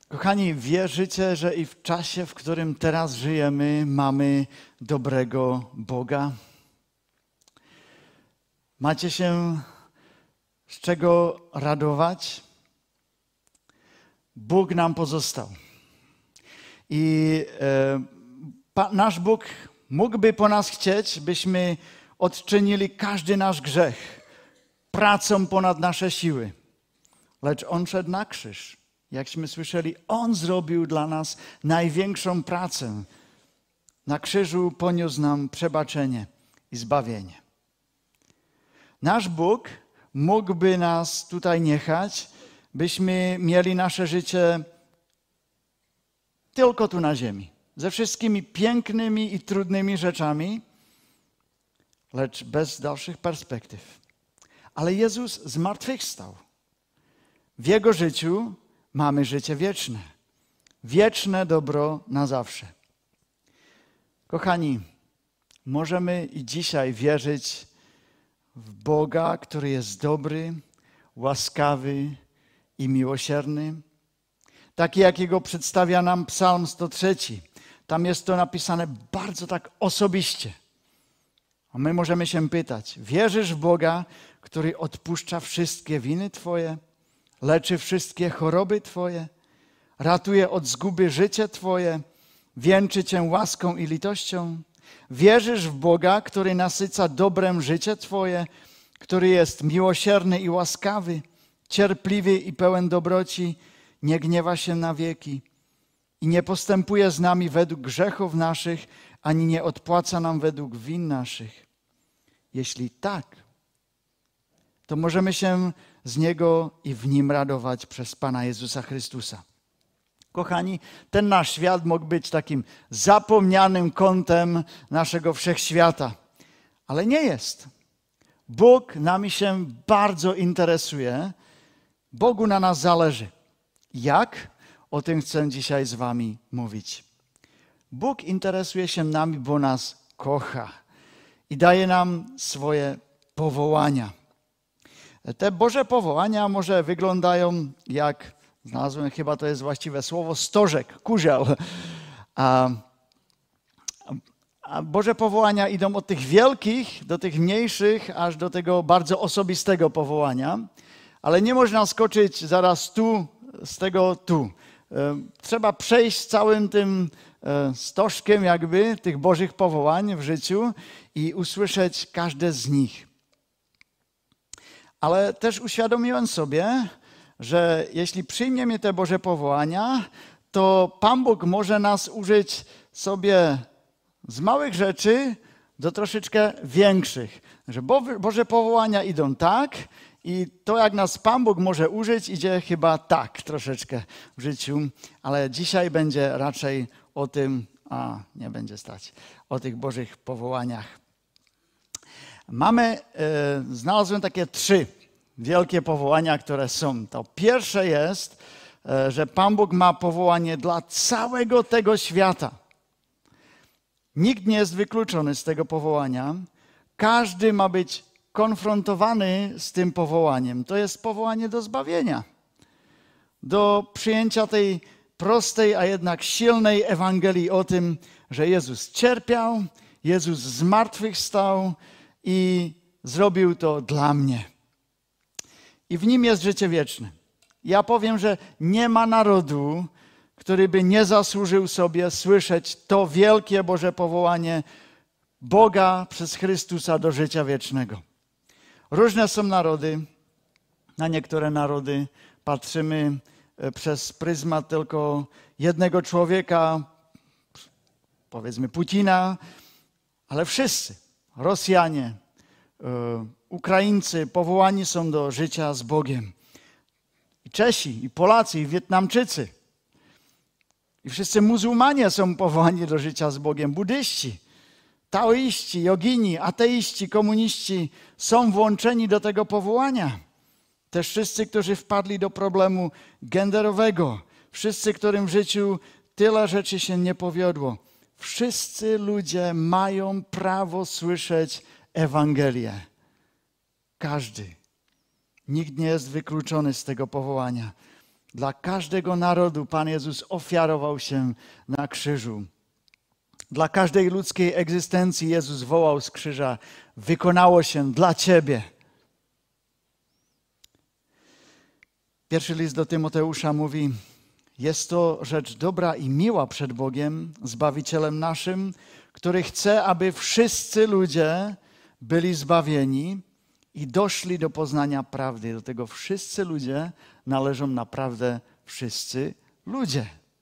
Kochani, wierzycie, że i w czasie, w którym teraz żyjemy, mamy dobrego Boga? Macie się z czego radować? Bóg nam pozostał. I nasz Bóg mógłby po nas chcieć, byśmy odczynili każdy nasz grzech pracą ponad nasze siły. Lecz On szedł na krzyż. Jakśmy słyszeli, On zrobił dla nas największą pracę. Na krzyżu poniósł nam przebaczenie i zbawienie. Nasz Bóg mógłby nas tutaj niechać, byśmy mieli nasze życie tylko tu na ziemi. Ze wszystkimi pięknymi i trudnymi rzeczami, lecz bez dalszych perspektyw. Ale Jezus zmartwychwstał. W Jego życiu mamy życie wieczne. Wieczne dobro na zawsze. Kochani, możemy i dzisiaj wierzyć w Boga, który jest dobry, łaskawy i miłosierny. Taki, jakiego przedstawia nam Psalm 103. Tam jest to napisane bardzo tak osobiście. A my możemy się pytać, wierzysz w Boga, który odpuszcza wszystkie winy Twoje, leczy wszystkie choroby Twoje, ratuje od zguby życie Twoje, wieńczy Cię łaską i litością? Wierzysz w Boga, który nasyca dobrem życie Twoje, który jest miłosierny i łaskawy, cierpliwy i pełen dobroci, nie gniewa się na wieki i nie postępuje z nami według grzechów naszych, ani nie odpłaca nam według win naszych? Jeśli tak, to możemy się z Niego i w Nim radować przez Pana Jezusa Chrystusa. Kochani, ten nasz świat mógł być takim zapomnianym kątem naszego wszechświata, ale nie jest. Bóg nami się bardzo interesuje. Bogu na nas zależy. Jak? O tym chcę dzisiaj z wami mówić. Bóg interesuje się nami, bo nas kocha i daje nam swoje powołania. Te Boże powołania może wyglądają jak, znalazłem chyba to jest właściwe słowo, stożek, kurzeł. A Boże powołania idą od tych wielkich do tych mniejszych, aż do tego bardzo osobistego powołania. Ale nie można skoczyć zaraz tu, z tego tu. Trzeba przejść całym tym stożkiem jakby tych Bożych powołań w życiu i usłyszeć każde z nich. Ale też uświadomiłem sobie, że jeśli przyjmiemy te Boże powołania, to Pan Bóg może nas użyć sobie z małych rzeczy do troszeczkę większych. Że Boże powołania idą tak i to, jak nas Pan Bóg może użyć, idzie chyba tak troszeczkę w życiu. Ale dzisiaj będzie raczej o tym, nie będzie stać, o tych Bożych powołaniach. Znalazłem takie 3 wielkie powołania, które są. To pierwsze jest, że Pan Bóg ma powołanie dla całego tego świata. Nikt nie jest wykluczony z tego powołania. Każdy ma być konfrontowany z tym powołaniem. To jest powołanie do zbawienia. Do przyjęcia tej prostej, a jednak silnej Ewangelii o tym, że Jezus cierpiał, Jezus zmartwychwstał i zrobił to dla mnie. I w Nim jest życie wieczne. Ja powiem, że nie ma narodu, który by nie zasłużył sobie słyszeć to wielkie Boże powołanie Boga przez Chrystusa do życia wiecznego. Różne są narody. Na niektóre narody patrzymy przez pryzmat tylko jednego człowieka, powiedzmy Putina, ale wszyscy, Rosjanie, Ukraińcy powołani są do życia z Bogiem. I Czesi, i Polacy, i Wietnamczycy. I wszyscy muzułmanie są powołani do życia z Bogiem. Buddyści, taoiści, jogini, ateiści, komuniści są włączeni do tego powołania. Też wszyscy, którzy wpadli do problemu genderowego. Wszyscy, którym w życiu tyle rzeczy się nie powiodło. Wszyscy ludzie mają prawo słyszeć Ewangelię. Każdy. Nikt nie jest wykluczony z tego powołania. Dla każdego narodu Pan Jezus ofiarował się na krzyżu. Dla każdej ludzkiej egzystencji Jezus wołał z krzyża: wykonało się dla Ciebie. Pierwszy list do Tymoteusza mówi: jest to rzecz dobra i miła przed Bogiem, Zbawicielem naszym, który chce, aby wszyscy ludzie byli zbawieni i doszli do poznania prawdy. Do tego wszyscy ludzie należą naprawdę wszyscy ludzie.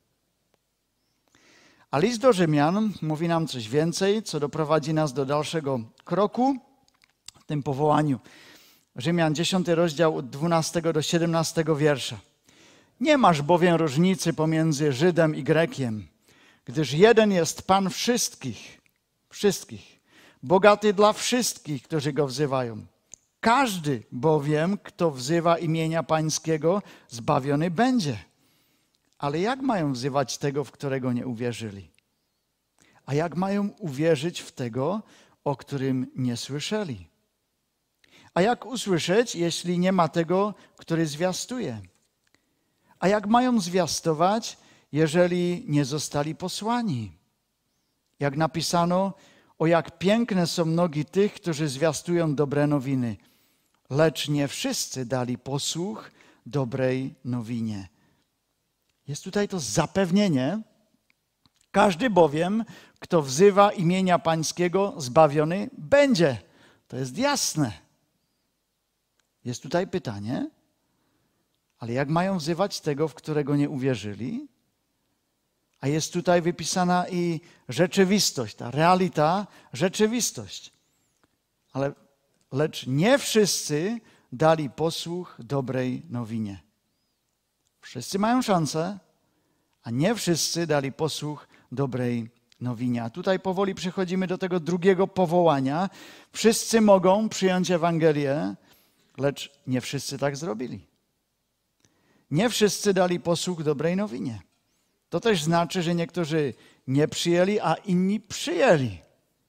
A list do Rzymian mówi nam coś więcej, co doprowadzi nas do dalszego kroku w tym powołaniu. Rzymian 10 rozdział od 12 do 17 wiersza. Nie masz bowiem różnicy pomiędzy Żydem i Grekiem, gdyż jeden jest Pan wszystkich, bogaty dla wszystkich, którzy Go wzywają. Każdy bowiem, kto wzywa imienia Pańskiego, zbawiony będzie. Ale jak mają wzywać tego, w którego nie uwierzyli? A jak mają uwierzyć w tego, o którym nie słyszeli? A jak usłyszeć, jeśli nie ma tego, który zwiastuje? A jak mają zwiastować, jeżeli nie zostali posłani? Jak napisano, o jak piękne są nogi tych, którzy zwiastują dobre nowiny. Lecz nie wszyscy dali posłuch dobrej nowinie. Jest tutaj to zapewnienie. Każdy bowiem, kto wzywa imienia Pańskiego, zbawiony będzie. To jest jasne. Jest tutaj pytanie, ale jak mają wzywać tego, w którego nie uwierzyli? A jest tutaj wypisana i rzeczywistość, ta realita, rzeczywistość. Lecz nie wszyscy dali posłuch dobrej nowinie. Wszyscy mają szansę, a nie wszyscy dali posłuch dobrej nowinie. A tutaj powoli przechodzimy do tego drugiego powołania. Wszyscy mogą przyjąć Ewangelię, lecz nie wszyscy tak zrobili. Nie wszyscy dali posłuch dobrej nowinie. To też znaczy, że niektórzy nie przyjęli, a inni przyjęli.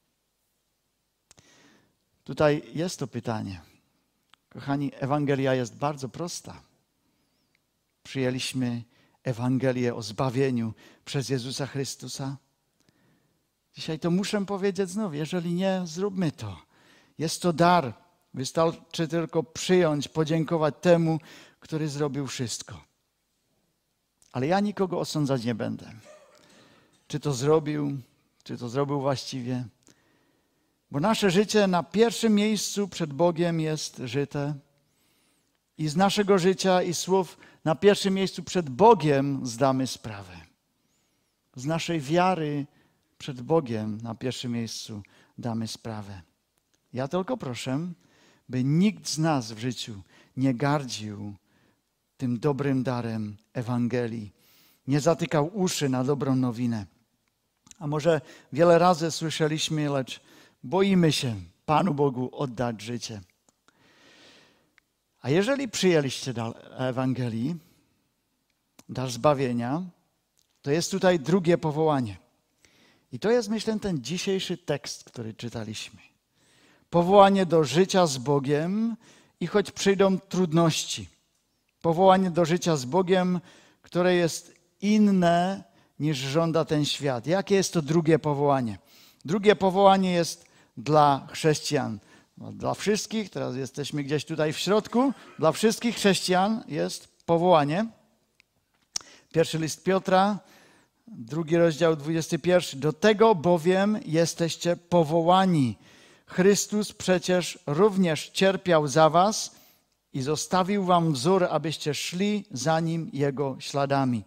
Tutaj jest to pytanie. Kochani, Ewangelia jest bardzo prosta. Przyjęliśmy Ewangelię o zbawieniu przez Jezusa Chrystusa. Dzisiaj to muszę powiedzieć znów, jeżeli nie, zróbmy to. Jest to dar. Wystarczy tylko przyjąć, podziękować temu, który zrobił wszystko. Ale ja nikogo osądzać nie będę. Czy to zrobił właściwie. Bo nasze życie na pierwszym miejscu przed Bogiem jest żyte. I z naszego życia i słów na pierwszym miejscu przed Bogiem zdamy sprawę. Z naszej wiary przed Bogiem na pierwszym miejscu damy sprawę. Ja tylko proszę, by nikt z nas w życiu nie gardził tym dobrym darem Ewangelii. Nie zatykał uszy na dobrą nowinę. A może wiele razy słyszeliśmy, lecz boimy się Panu Bogu oddać życie. A jeżeli przyjęliście dar Ewangelii, dar zbawienia, to jest tutaj drugie powołanie. I to jest, myślę, ten dzisiejszy tekst, który czytaliśmy. Powołanie do życia z Bogiem i choć przyjdą trudności. Powołanie do życia z Bogiem, które jest inne niż żąda ten świat. Jakie jest to drugie powołanie? Drugie powołanie jest dla chrześcijan. Dla wszystkich, teraz jesteśmy gdzieś tutaj w środku, dla wszystkich chrześcijan jest powołanie. Pierwszy list Piotra, 2 rozdział 21. Do tego bowiem jesteście powołani. Chrystus przecież również cierpiał za was i zostawił wam wzór, abyście szli za Nim Jego śladami.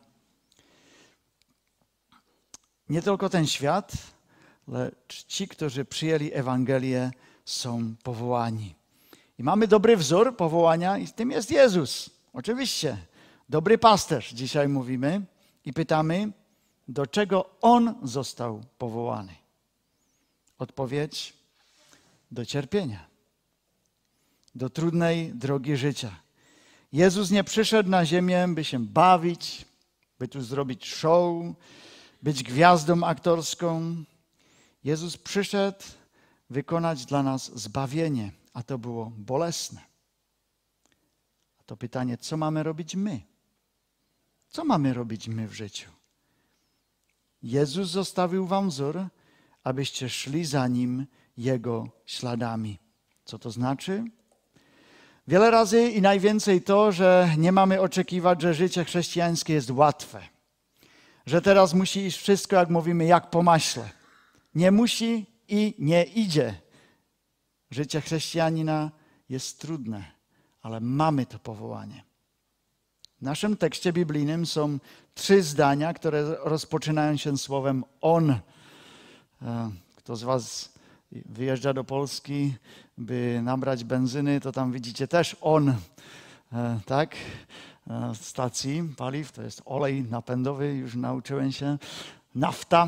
Nie tylko ten świat, lecz ci, którzy przyjęli Ewangelię, są powołani. I mamy dobry wzór powołania i tym jest Jezus. Oczywiście, dobry pasterz dzisiaj mówimy i pytamy, do czego On został powołany. Odpowiedź: do cierpienia, do trudnej drogi życia. Jezus nie przyszedł na ziemię, by się bawić, by tu zrobić show, być gwiazdą aktorską. Jezus przyszedł wykonać dla nas zbawienie, a to było bolesne. A to pytanie, co mamy robić my? Co mamy robić my w życiu? Jezus zostawił wam wzór, abyście szli za Nim Jego śladami. Co to znaczy? Wiele razy i najwięcej to, że nie mamy oczekiwać, że życie chrześcijańskie jest łatwe. Że teraz musi iść wszystko, jak mówimy, jak po maśle. Nie musi i nie idzie. Życie chrześcijanina jest trudne, ale mamy to powołanie. W naszym tekście biblijnym są 3 zdania, które rozpoczynają się słowem on. Kto z was wyjeżdża do Polski, by nabrać benzyny, to tam widzicie też on, tak? Stacji paliw, to jest olej napędowy, już nauczyłem się, nafta,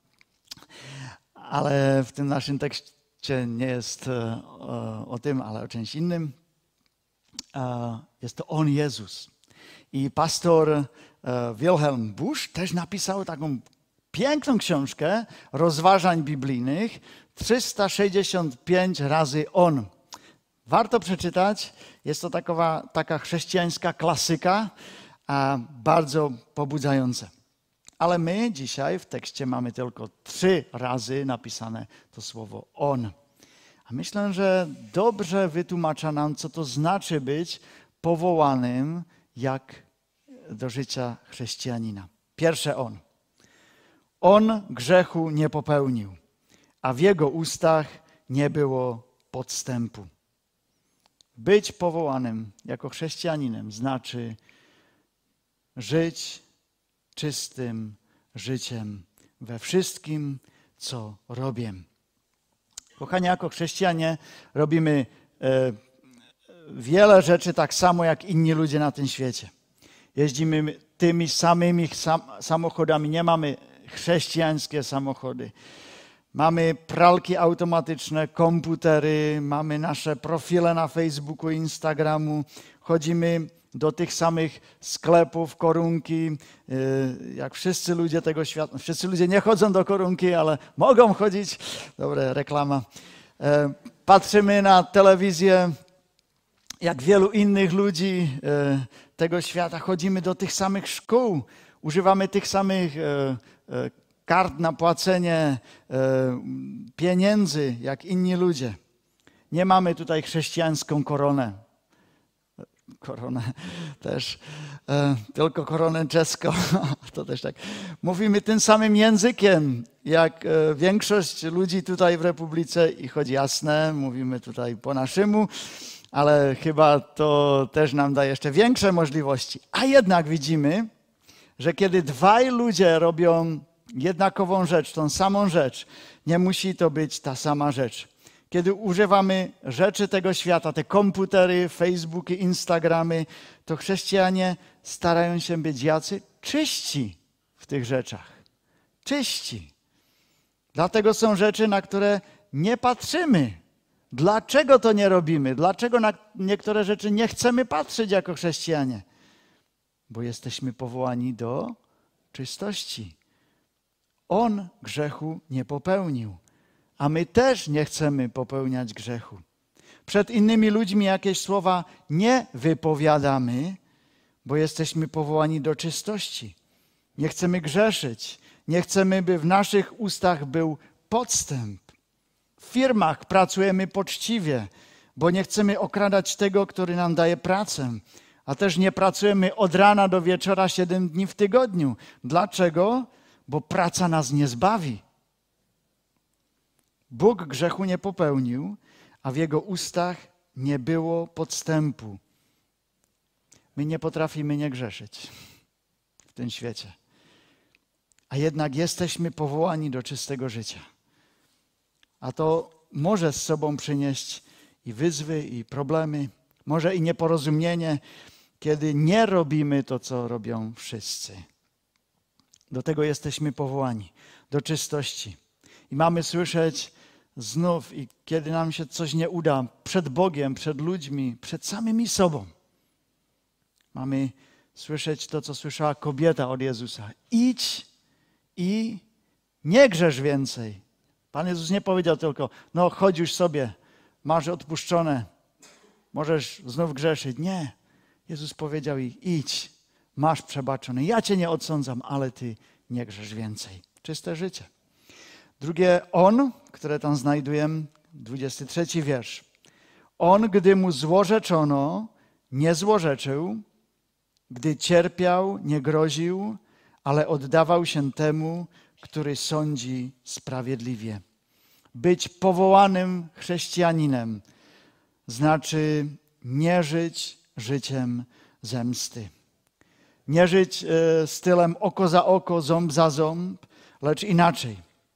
ale w tym naszym tekście nie jest o tym, ale o czymś innym. Jest to on Jezus. I pastor Wilhelm Busch też napisał taką piękną książkę rozważań biblijnych, 365 razy on. Warto przeczytać, jest to taka chrześcijańska klasyka, bardzo pobudzająca. Ale my dzisiaj w tekście mamy tylko 3 razy napisane to słowo on. A myślę, że dobrze wytłumacza nam, co to znaczy być powołanym jak do życia chrześcijanina. Pierwsze on. On grzechu nie popełnił, a w jego ustach nie było podstępu. Być powołanym jako chrześcijaninem znaczy żyć czystym życiem we wszystkim, co robię. Kochani, jako chrześcijanie robimy wiele rzeczy tak samo jak inni ludzie na tym świecie. Jeździmy tymi samymi samochodami, nie mamy chrześcijańskie samochody. Mamy pralki automatyczne, komputery, mamy nasze profile na Facebooku, Instagramu, chodzimy do tych samych sklepów, Korunki, jak wszyscy ludzie tego świata. Wszyscy ludzie nie chodzą do Korunki, ale mogą chodzić. Dobra, reklama. Patrzymy na telewizję, jak wielu innych ludzi tego świata. Chodzimy do tych samych szkół, używamy tych samych kart na płacenie pieniędzy, jak inni ludzie. Nie mamy tutaj chrześcijańską koronę. Koronę też, tylko koronę czeską. To też tak. Mówimy tym samym językiem, jak większość ludzi tutaj w Republice i choć jasne, mówimy tutaj po naszemu, ale chyba to też nam da jeszcze większe możliwości. A jednak widzimy, że kiedy 2 ludzie robią jednakową rzecz, tą samą rzecz, nie musi to być ta sama rzecz. Kiedy używamy rzeczy tego świata, te komputery, Facebooki, Instagramy, to chrześcijanie starają się być jacy czyści w tych rzeczach. Czyści. Dlatego są rzeczy, na które nie patrzymy. Dlaczego to nie robimy? Dlaczego na niektóre rzeczy nie chcemy patrzeć jako chrześcijanie? Bo jesteśmy powołani do czystości. On grzechu nie popełnił, a my też nie chcemy popełniać grzechu. Przed innymi ludźmi jakieś słowa nie wypowiadamy, bo jesteśmy powołani do czystości. Nie chcemy grzeszyć, nie chcemy, by w naszych ustach był podstęp. W firmach pracujemy poczciwie, bo nie chcemy okradać tego, który nam daje pracę. A też nie pracujemy od rana do wieczora 7 dni w tygodniu. Dlaczego? Bo praca nas nie zbawi. Bóg grzechu nie popełnił, a w Jego ustach nie było podstępu. My nie potrafimy nie grzeszyć w tym świecie. A jednak jesteśmy powołani do czystego życia. A to może z sobą przynieść i wyzwy, i problemy, może i nieporozumienie, kiedy nie robimy to, co robią wszyscy. Do tego jesteśmy powołani, do czystości. I mamy słyszeć znów, i kiedy nam się coś nie uda, przed Bogiem, przed ludźmi, przed samymi sobą. Mamy słyszeć to, co słyszała kobieta od Jezusa. Idź i nie grzesz więcej. Pan Jezus nie powiedział tylko, no chodź już sobie, masz odpuszczone, możesz znów grzeszyć. Nie. Jezus powiedział jej, idź, masz przebaczone. Ja cię nie odsądzam, ale ty nie grzesz więcej. Czyste życie. Drugie, on, które tam znajdujemy, 23 wiersz. On, gdy mu złorzeczono, nie złorzeczył, gdy cierpiał, nie groził, ale oddawał się temu, który sądzi sprawiedliwie. Być powołanym chrześcijaninem znaczy nie żyć życiem zemsty. Nie żyć stylem oko za oko, ząb za ząb, lecz inaczej.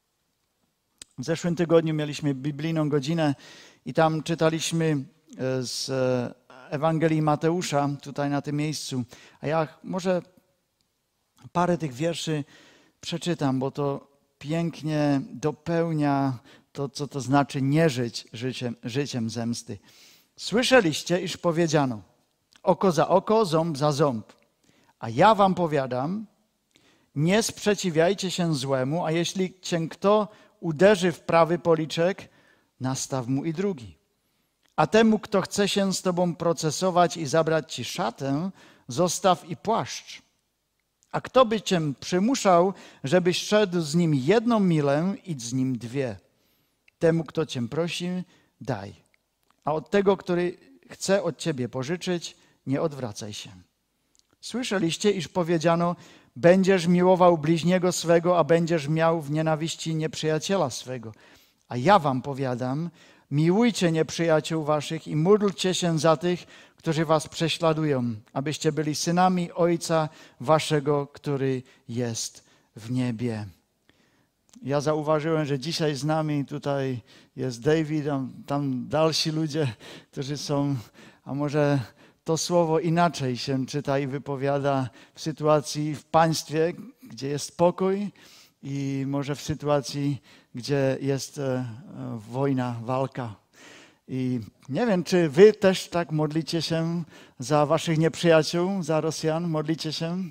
W zeszłym tygodniu mieliśmy biblijną godzinę i tam czytaliśmy z Ewangelii Mateusza, tutaj na tym miejscu. A ja może parę tych wierszy przeczytam, bo to pięknie dopełnia to, co to znaczy nie żyć życiem zemsty. Słyszeliście, iż powiedziano, oko za oko, ząb za ząb. A ja wam powiadam, nie sprzeciwiajcie się złemu, a jeśli cię kto uderzy w prawy policzek, nastaw mu i drugi. A temu, kto chce się z tobą procesować i zabrać ci szatę, zostaw i płaszcz. A kto by cię przymuszał, żebyś szedł z nim 1 milę, idź z nim 2. Temu, kto cię prosi, daj. A od tego, który chce od ciebie pożyczyć, nie odwracaj się. Słyszeliście, iż powiedziano, będziesz miłował bliźniego swego, a będziesz miał w nienawiści nieprzyjaciela swego. A ja wam powiadam, miłujcie nieprzyjaciół waszych i módlcie się za tych, którzy was prześladują, abyście byli synami Ojca waszego, który jest w niebie. Ja zauważyłem, że dzisiaj z nami tutaj jest David, tam dalsi ludzie, którzy są, a może to słowo inaczej się czyta i wypowiada w sytuacji w państwie, gdzie jest pokój i może w sytuacji, gdzie jest wojna, walka. I nie wiem, czy wy też tak modlicie się za waszych nieprzyjaciół, za Rosjan? Modlicie się?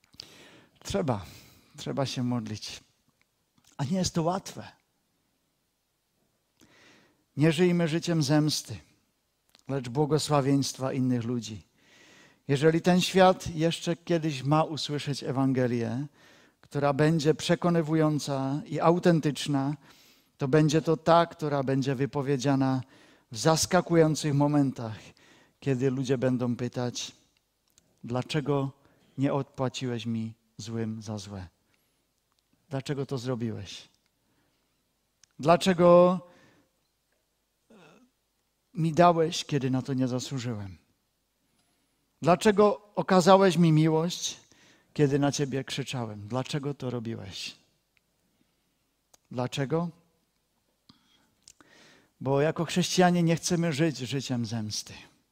Trzeba się modlić. A nie jest to łatwe. Nie żyjmy życiem zemsty, lecz błogosławieństwa innych ludzi. Jeżeli ten świat jeszcze kiedyś ma usłyszeć Ewangelię, która będzie przekonywująca i autentyczna, to będzie to ta, która będzie wypowiedziana w zaskakujących momentach, kiedy ludzie będą pytać, dlaczego nie odpłaciłeś mi złym za złe? Dlaczego to zrobiłeś? Dlaczego mi dałeś, kiedy na to nie zasłużyłem? Dlaczego okazałeś mi miłość, kiedy na ciebie krzyczałem? Dlaczego to robiłeś? Dlaczego? Bo jako chrześcijanie nie chcemy żyć życiem zemsty.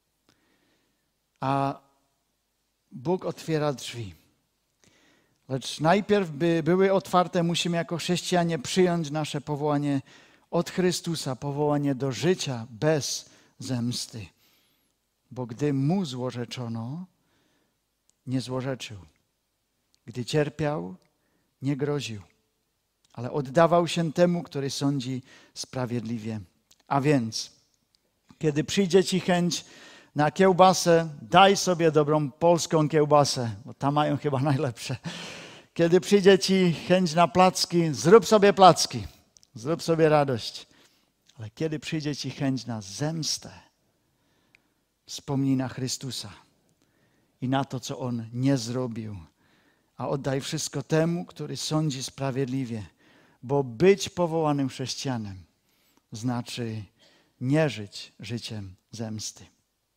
A Bóg otwiera drzwi. Lecz najpierw, by były otwarte, musimy jako chrześcijanie przyjąć nasze powołanie od Chrystusa, powołanie do życia bez zemsty. Bo gdy mu złorzeczono, nie złorzeczył. Gdy cierpiał, nie groził, ale oddawał się temu, który sądzi sprawiedliwie. A więc, kiedy przyjdzie ci chęć na kiełbasę, daj sobie dobrą polską kiełbasę, bo tam mają chyba najlepsze. Kiedy przyjdzie ci chęć na placki, zrób sobie placki, zrób sobie radość. Ale kiedy przyjdzie ci chęć na zemstę, wspomnij na Chrystusa i na to, co On nie zrobił. A oddaj wszystko temu, który sądzi sprawiedliwie, bo być powołanym chrześcijanem znaczy nie żyć życiem zemsty.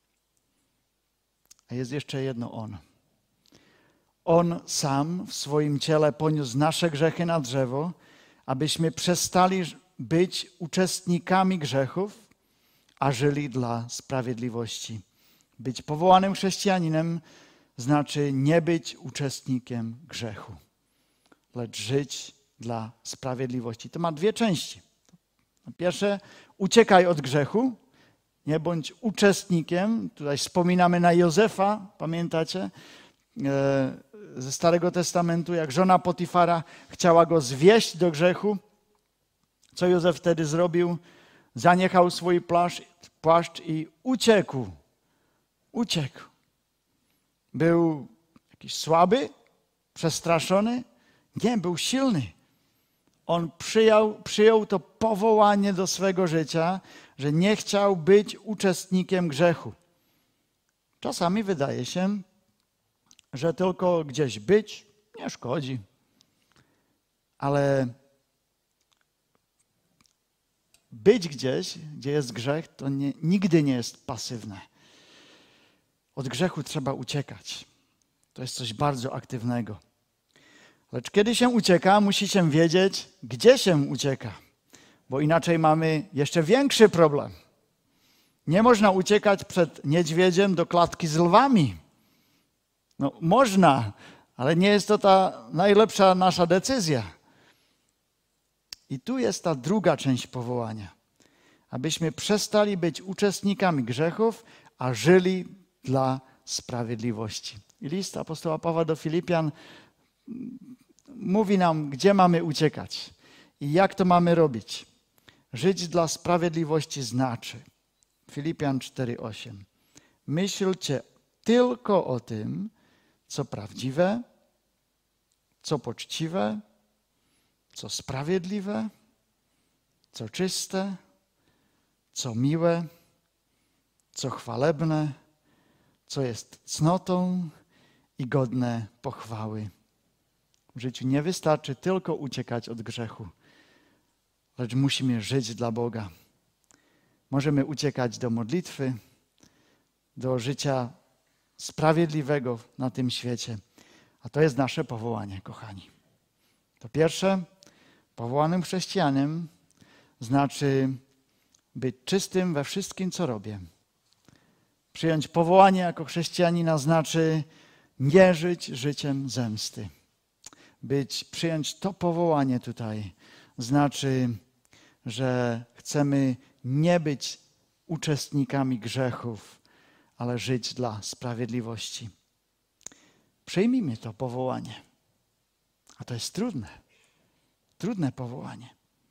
A jest jeszcze jedno On. On sam w swoim ciele poniósł nasze grzechy na drzewo, abyśmy przestali być uczestnikami grzechów, a żyli dla sprawiedliwości. Być powołanym chrześcijaninem znaczy nie być uczestnikiem grzechu, lecz żyć dla sprawiedliwości. To ma 2 części. Pierwsze, uciekaj od grzechu, nie bądź uczestnikiem. Tutaj wspominamy na Józefa, pamiętacie? Ze Starego Testamentu, jak żona Potifara chciała go zwieść do grzechu. Co Józef wtedy zrobił? Zaniechał swój płaszcz i uciekł. Uciekł. Był jakiś słaby, przestraszony? Nie, był silny. On przyjął to powołanie do swego życia, że nie chciał być uczestnikiem grzechu. Czasami wydaje się, że tylko gdzieś być nie szkodzi. Ale być gdzieś, gdzie jest grzech, to nigdy nie jest pasywne. Od grzechu trzeba uciekać. To jest coś bardzo aktywnego. Lecz kiedy się ucieka, musi się wiedzieć, gdzie się ucieka. Bo inaczej mamy jeszcze większy problem. Nie można uciekać przed niedźwiedziem do klatki z lwami. No można, ale nie jest to ta najlepsza nasza decyzja. I tu jest ta druga część powołania. Abyśmy przestali być uczestnikami grzechów, a żyli dla sprawiedliwości. I list apostoła Pawła do Filipian mówi nam, gdzie mamy uciekać i jak to mamy robić. Żyć dla sprawiedliwości znaczy, Filipian 4:8, myślcie tylko o tym, co prawdziwe, co poczciwe, co sprawiedliwe, co czyste, co miłe, co chwalebne, co jest cnotą i godne pochwały. W życiu nie wystarczy tylko uciekać od grzechu, lecz musimy żyć dla Boga. Możemy uciekać do modlitwy, do życia sprawiedliwego na tym świecie. A to jest nasze powołanie, kochani. To pierwsze, powołanym chrześcijanem znaczy być czystym we wszystkim, co robię. Przyjąć powołanie jako chrześcijanina znaczy nie żyć życiem zemsty. Przyjąć to powołanie tutaj znaczy, że chcemy nie być uczestnikami grzechów, ale żyć dla sprawiedliwości. Przyjmijmy to powołanie. A to jest trudne. Trudne powołanie.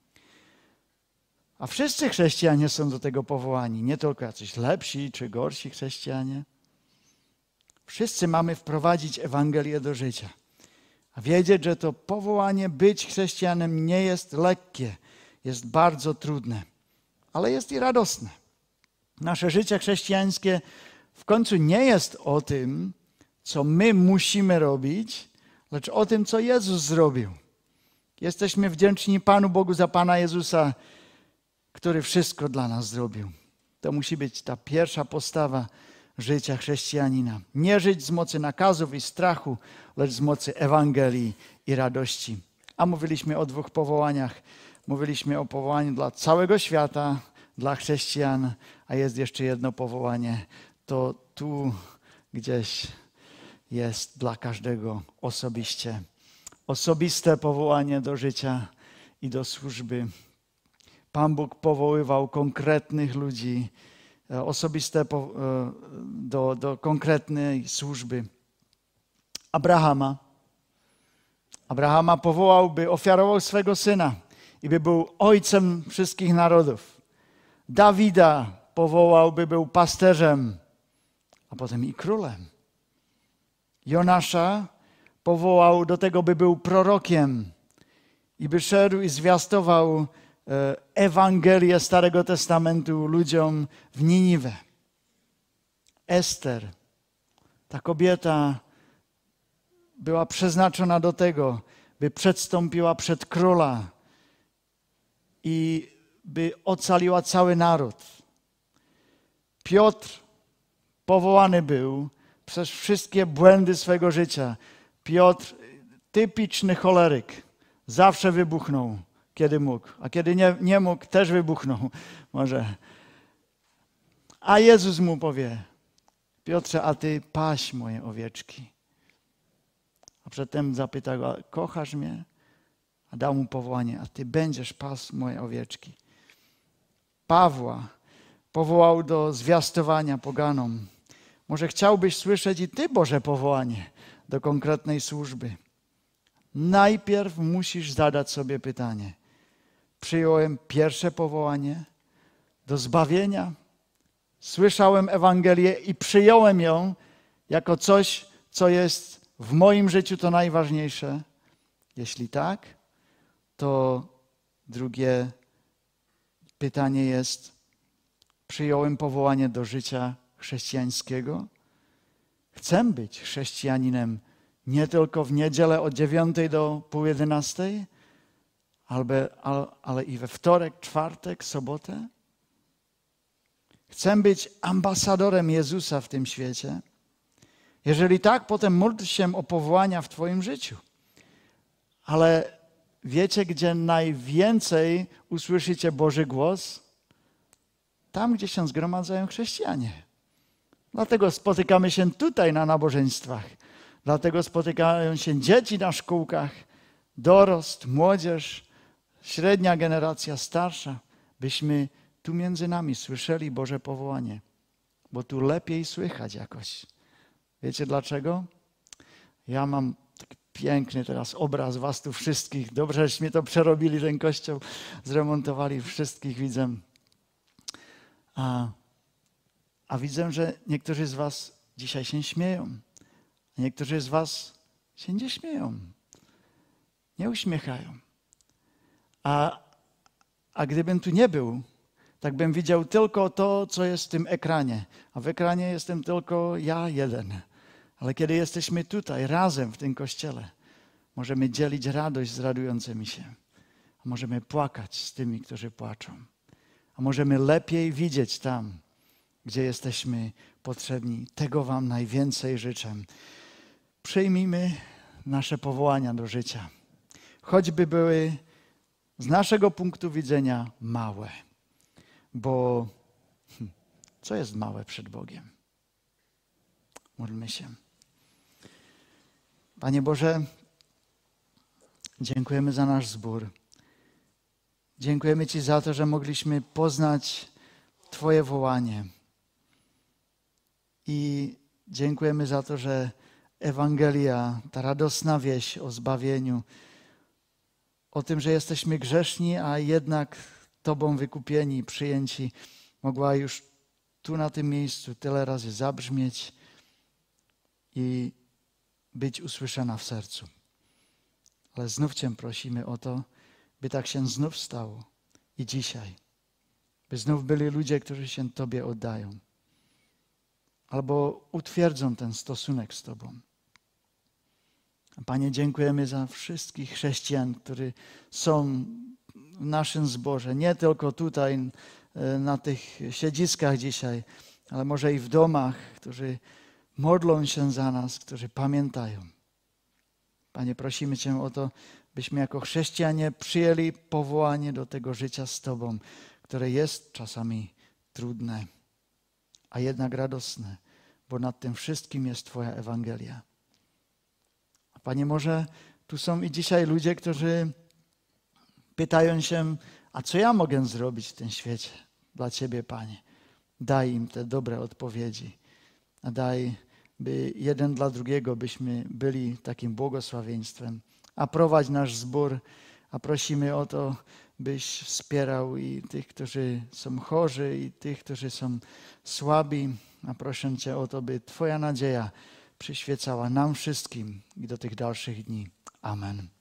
A wszyscy chrześcijanie są do tego powołani. Nie tylko jacyś lepsi czy gorsi chrześcijanie. Wszyscy mamy wprowadzić Ewangelię do życia. A wiedzieć, że to powołanie być chrześcijanem nie jest lekkie. Jest bardzo trudne. Ale jest i radosne. Nasze życie chrześcijańskie w końcu nie jest o tym, co my musimy robić, lecz o tym, co Jezus zrobił. Jesteśmy wdzięczni Panu Bogu za Pana Jezusa, który wszystko dla nas zrobił. To musi być ta pierwsza postawa życia chrześcijanina. Nie żyć z mocy nakazów i strachu, lecz z mocy Ewangelii i radości. A mówiliśmy o dwóch powołaniach. Mówiliśmy o powołaniu dla całego świata, dla chrześcijan, a jest jeszcze jedno powołanie. To tu gdzieś jest dla każdego osobiście. Osobiste powołanie do życia i do służby. Pan Bóg powoływał konkretnych ludzi, osobiste do konkretnej służby. Abrahama powołał, by ofiarował swego syna i by był ojcem wszystkich narodów. Dawida powołał, by był pasterzem, a potem i królem. Jonasza powołał do tego, by był prorokiem i by szedł i zwiastował Ewangelię Starego Testamentu ludziom w Niniwę. Ester, ta kobieta była przeznaczona do tego, by przedstąpiła przed króla i by ocaliła cały naród. Piotr powołany był przez wszystkie błędy swego życia. Piotr, typiczny choleryk, zawsze wybuchnął, kiedy mógł. A kiedy nie mógł, też wybuchnął może. A Jezus mu powie: Piotrze, a ty paś moje owieczki. A przedtem zapytał go: kochasz mnie? A dał mu powołanie: a ty będziesz pasł moje owieczki. Pawła powołał do zwiastowania poganom. Może chciałbyś słyszeć i ty Boże powołanie do konkretnej służby. Najpierw musisz zadać sobie pytanie: przyjąłem pierwsze powołanie do zbawienia? Słyszałem Ewangelię i przyjąłem ją jako coś, co jest w moim życiu to najważniejsze? Jeśli tak, to drugie pytanie jest, przyjąłem powołanie do życia chrześcijańskiego? Chcę być chrześcijaninem nie tylko w niedzielę od 9 do pół 11, ale i we wtorek, czwartek, sobotę? Chcę być ambasadorem Jezusa w tym świecie? Jeżeli tak, potem módl się o powołania w twoim życiu. Ale wiecie, gdzie najwięcej usłyszycie Boży głos? Tam, gdzie się zgromadzają chrześcijanie. Dlatego spotykamy się tutaj na nabożeństwach. Dlatego spotykają się dzieci na szkółkach, dorost, młodzież, średnia generacja, starsza, byśmy tu między nami słyszeli Boże powołanie, bo tu lepiej słychać jakoś. Wiecie dlaczego? Ja mam taki piękny teraz obraz was tu wszystkich. Dobrze, żeśmy to przerobili, ten kościół zremontowali, wszystkich widzę. A widzę, że niektórzy z was dzisiaj się śmieją. A niektórzy z was się nie śmieją. Nie uśmiechają. A gdybym tu nie był, tak bym widział tylko to, co jest w tym ekranie. A w ekranie jestem tylko ja jeden. Ale kiedy jesteśmy tutaj, razem w tym kościele, możemy dzielić radość z radującymi się. A możemy płakać z tymi, którzy płaczą. A możemy lepiej widzieć tam, gdzie jesteśmy potrzebni. Tego wam najwięcej życzę. Przyjmijmy nasze powołania do życia. Choćby były z naszego punktu widzenia małe. Bo co jest małe przed Bogiem? Módlmy się. Panie Boże, dziękujemy za nasz zbór. Dziękujemy Ci za to, że mogliśmy poznać Twoje wołanie. I dziękujemy za to, że Ewangelia, ta radosna wieść o zbawieniu, o tym, że jesteśmy grzeszni, a jednak Tobą wykupieni, przyjęci, mogła już tu na tym miejscu tyle razy zabrzmieć i być usłyszana w sercu. Ale znów Cię prosimy o to, by tak się znów stało i dzisiaj. By znów byli ludzie, którzy się Tobie oddają. Albo utwierdzą ten stosunek z Tobą. Panie, dziękujemy za wszystkich chrześcijan, którzy są w naszym zborze. Nie tylko tutaj na tych siedziskach dzisiaj, ale może i w domach, którzy modlą się za nas, którzy pamiętają. Panie, prosimy Cię o to, byśmy jako chrześcijanie przyjęli powołanie do tego życia z Tobą, które jest czasami trudne, a jednak radosne, bo nad tym wszystkim jest Twoja Ewangelia. A Panie, może tu są i dzisiaj ludzie, którzy pytają się, a co ja mogę zrobić w tym świecie dla Ciebie, Panie? Daj im te dobre odpowiedzi, a daj, by jeden dla drugiego byśmy byli takim błogosławieństwem. A prowadź nasz zbór, a prosimy o to, byś wspierał i tych, którzy są chorzy, i tych, którzy są słabi. A proszę Cię o to, by Twoja nadzieja przyświecała nam wszystkim i do tych dalszych dni. Amen.